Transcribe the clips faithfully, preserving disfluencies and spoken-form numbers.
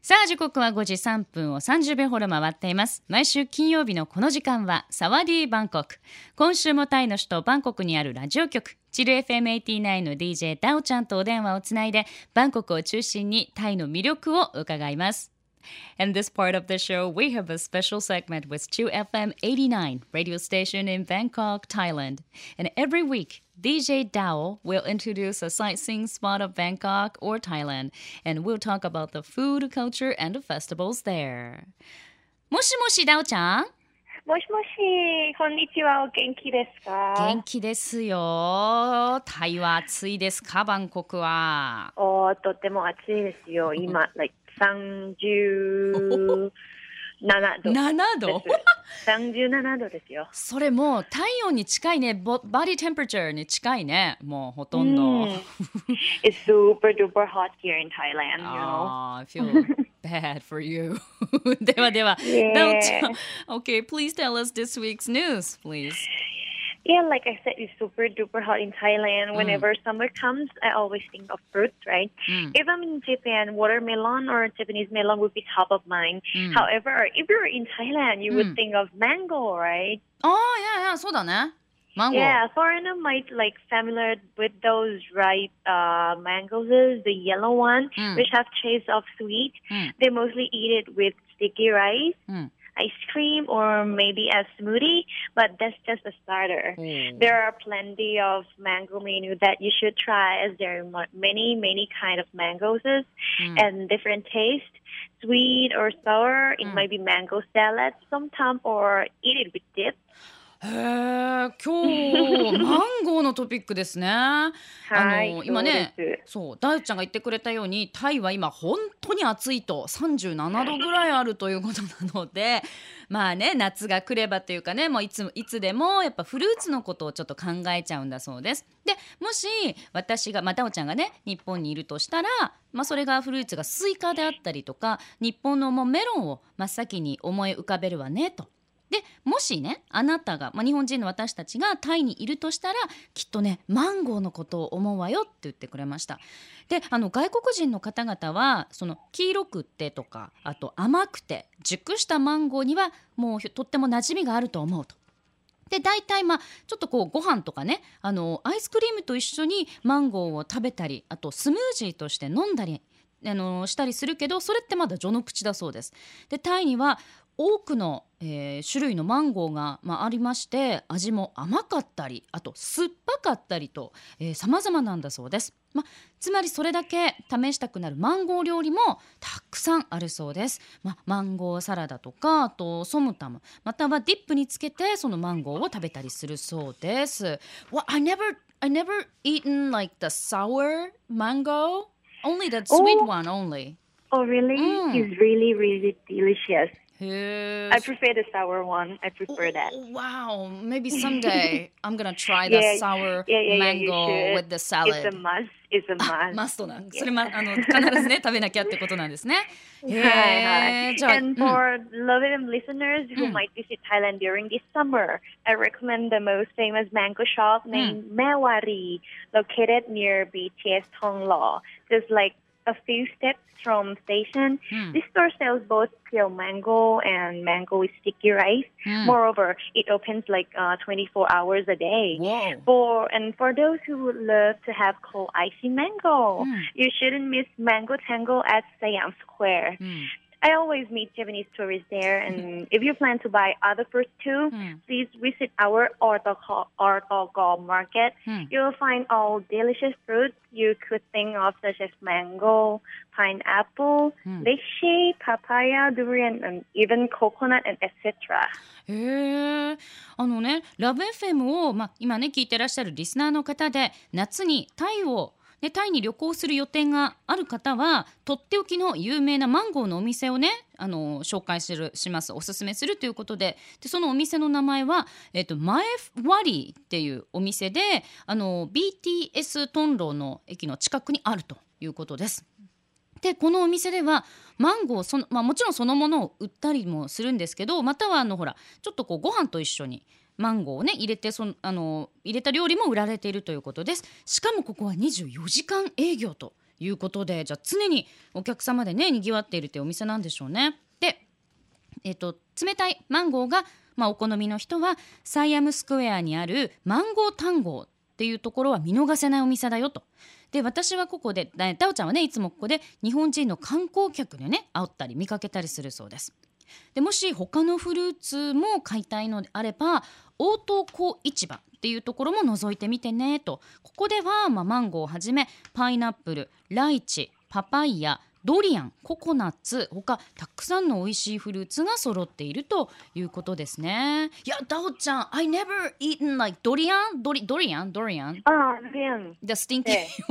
さあ時刻はごじさんぷんをさんじゅうびょうほど回っています。毎週金曜日のこの時間はサワディーバンコク。今週もタイの首都バンコクにあるラジオ局チル エフエムはちじゅうきゅう の ディージェー ダオちゃんとお電話をつないでバンコクを中心にタイの魅力を伺います。In this part of the show, we have a special segment with Chill エフエムはちじゅうきゅう radio station in Bangkok, Thailand. And every week, D J Dao will introduce a sightseeing spot of Bangkok or Thailand, and we'll talk about the food, culture, and the festivals there. もしもし、ダオちゃん。 もしもし、こんにちは。お元気ですか？ 元気ですよ。タイは暑いですか？バンコクは。 おー、とても暑いですよ。今、like さんじゅうななど。 ななどさんじゅうななどですよ。 それもう体温に近いね。ボバディテンパレチャーに近いね。もうほとんど。 It's super duper hot here in Thailand, you know. Ah, I feel bad for you. ではでは、 Yeah. ダオちゃん。Okay, please tell us this week's news, please. Yeah, like I said, it's super duper hot in Thailand. Whenever mm. summer comes, I always think of fruits, right? Mm. If I'm in Japan, watermelon or Japanese melon would be top of mind. Mm. However, if you're in Thailand, you mm. would think of mango, right? Oh, yeah, yeah, そうだね。Mango. Yeah, foreigner might like familiar with those ripe uh, mangoes, the yellow one, mm. which have taste of sweet. Mm. They mostly eat it with sticky rice. Mm. ice cream or maybe a smoothie, but that's just a starter. Mm. There are plenty of mango menu that you should try as there are many, many kind of mangoes mm. and different taste. Sweet or sour, it mm. might be mango salad sometimes or eat it with dip. へー、今日マンゴーのトピックですね。あの今ね、そうダウちゃんが言ってくれたようにタイは今本当に暑いとさんじゅうななどぐらいあるということなのでまあね夏が来ればというかねもういついつでもやっぱフルーツのことをちょっと考えちゃうんだそうです。でもし私がまあダウちゃんがね日本にいるとしたらまあそれがフルーツがスイカであったりとか日本のもうメロンを真っ先に思い浮かべるわねと。でもしねあなたが、まあ、日本人の私たちがタイにいるとしたらきっとねマンゴーのことを思うわよって言ってくれました。であの外国人の方々はその黄色くってとかあと甘くて熟したマンゴーにはもうとっても馴染みがあると思うと。で大体まあちょっとこうご飯とかねあのアイスクリームと一緒にマンゴーを食べたりあとスムージーとして飲んだりあのしたりするけどそれってまだ序の口だそうです。でタイには多くの、えー、種類のマンゴーが、まあ、ありまして味も甘かったりあと酸っぱかったりと、えー、様々なんだそうです、まあ、つまりそれだけ試したくなるマンゴー料理もたくさんあるそうです、まあ、マンゴーサラダとかあとソムタムまたはディップにつけてそのマンゴーを食べたりするそうです。 well, I never, I never eaten like the sour mango only the sweet oh. one only. Oh really? Mm. It's really really delicious.I prefer the sour one. I prefer that. Oh, wow. Maybe someday I'm going to try the yeah, sour yeah, yeah, mango yeah, with the salad. It's a must. It's a must. マストな。それまあの必ずね食べなきゃってことなんですね。へー。And for loving listeners who might visit Thailand during this summer, I recommend the most famous mango shop named Mewari, located near B T S Thong Lo. Just like a few steps from station. Mm. This store sells both pure mango and mango with sticky rice. Mm. Moreover, it opens like uh, twenty-four hours a day. Whoa. For and for those who would love to have cold icy mango, mm. you shouldn't miss Mango Tango at Siam Square. Mm.I always meet Japanese tourists there, and if you plan to buy other fruits too, mm. please visit our Ortogol market. Mm. You will find all delicious fruits you could think of, such as mango, pineapple, mm. lychee, papaya, durian, and even coconut, and et cetera. へー、あのね、ラブ エフエム を、まあ、今ね聞いてらっしゃるリスナーの方で夏にタイをでタイに旅行する予定がある方はとっておきの有名なマンゴーのお店をねあの紹介するしますおすすめするということで、でそのお店の名前は、えっと、マエワリーっていうお店であの ビーティーエス トンローの駅の近くにあるということです。でこのお店ではマンゴーその、まあ、もちろんそのものを売ったりもするんですけどまたはあのほらちょっとこうご飯と一緒にマンゴーをね入れてそのあの入れた料理も売られているということです。しかもここはにじゅうよじかん営業ということで、じゃあ常にお客様でね賑わっているというお店なんでしょうね。で、えーと、冷たいマンゴーが、まあ、お好みの人はサイアムスクエアにあるマンゴータンゴーっていうところは見逃せないお店だよと。で、私はここでダオちゃんはねいつもここで日本人の観光客でね会ったり見かけたりするそうです。で、もし他のフルーツも買いたいのであれば応答小市場っていうところも覗いてみてねと。ここでは、まあ、マンゴーをはじめパイナップル、ライチ、パパイヤ、ドリアン、ココナッツ、他たくさんの美味しいフルーツが揃っているということですね。いや、ダオちゃん I never eaten like ドリアンドリドリアンドリアンあ、ドリアン The stinky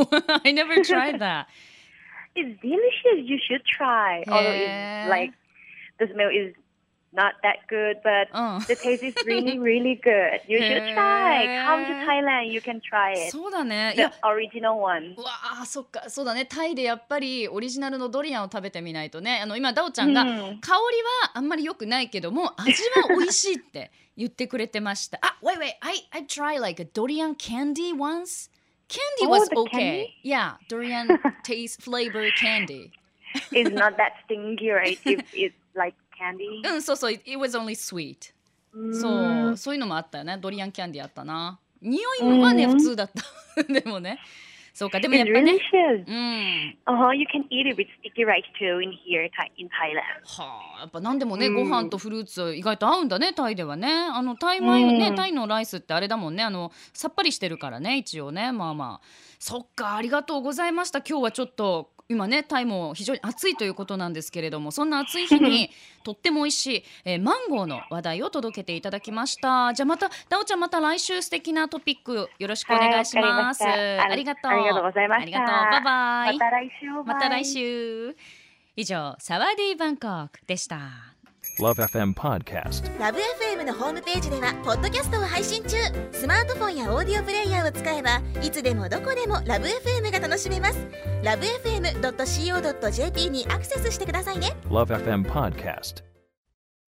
I never tried that. It's delicious. You should try. Although it's like the smell is not that good, but uh. the taste is really, really good. You should try. Come to Thailand, you can try it. そうだね。 The original one. うわあ、そっか、そうだね。タイでやっぱりオリジナルのドリアンを食べてみないとね。あの今ダオちゃんが、うん、香りはあんまり良くないけども味は美味しいって言ってくれてました。あ、wait, wait, I I tried like a durian candy once. Candy was oh, okay. Yeah, durian taste flavor candy. It's not that stinky, right? If it's like candy. うん、そうそう、it was only sweet. そう、そういうのもあったよね。ドリアンキャンディーあったな。匂いはね、普通だった。でもね。そうか、でもやっぱね。 うん。Uh-huh, you can eat it with sticky rice too in here in Thailand. はあ、やっぱ何でもね、ご飯とフルーツ意外と合うんだね、タイではね。あのタイ米ね、タイのライスってあれだもんね。あのさっぱりしてるからね、一応ね。まあまあ。そっか、ありがとうございました。今日はちょっと。今ねタイも非常に暑いということなんですけれども、そんな暑い日にとっても美味しい、えー、マンゴーの話題を届けていただきました。じゃあまたダオちゃん、また来週素敵なトピックよろしくお願いします。 はい、 ありがとう。 ありがとうございました。ありがとう。 バイバイ。 また来週。 また来週。以上、サワディーバンコクでした。 Love エフエム Podcast。 ラブ エフエム のホームページではポッドキャストを配信中。スマートフォンやオーディオプレイヤーを使えばいつでもどこでもラブ エフエム が楽しめます。ラブ エフエムドットシーオードットジェーピー にアクセスしてくださいね。 Love エフエム Podcast。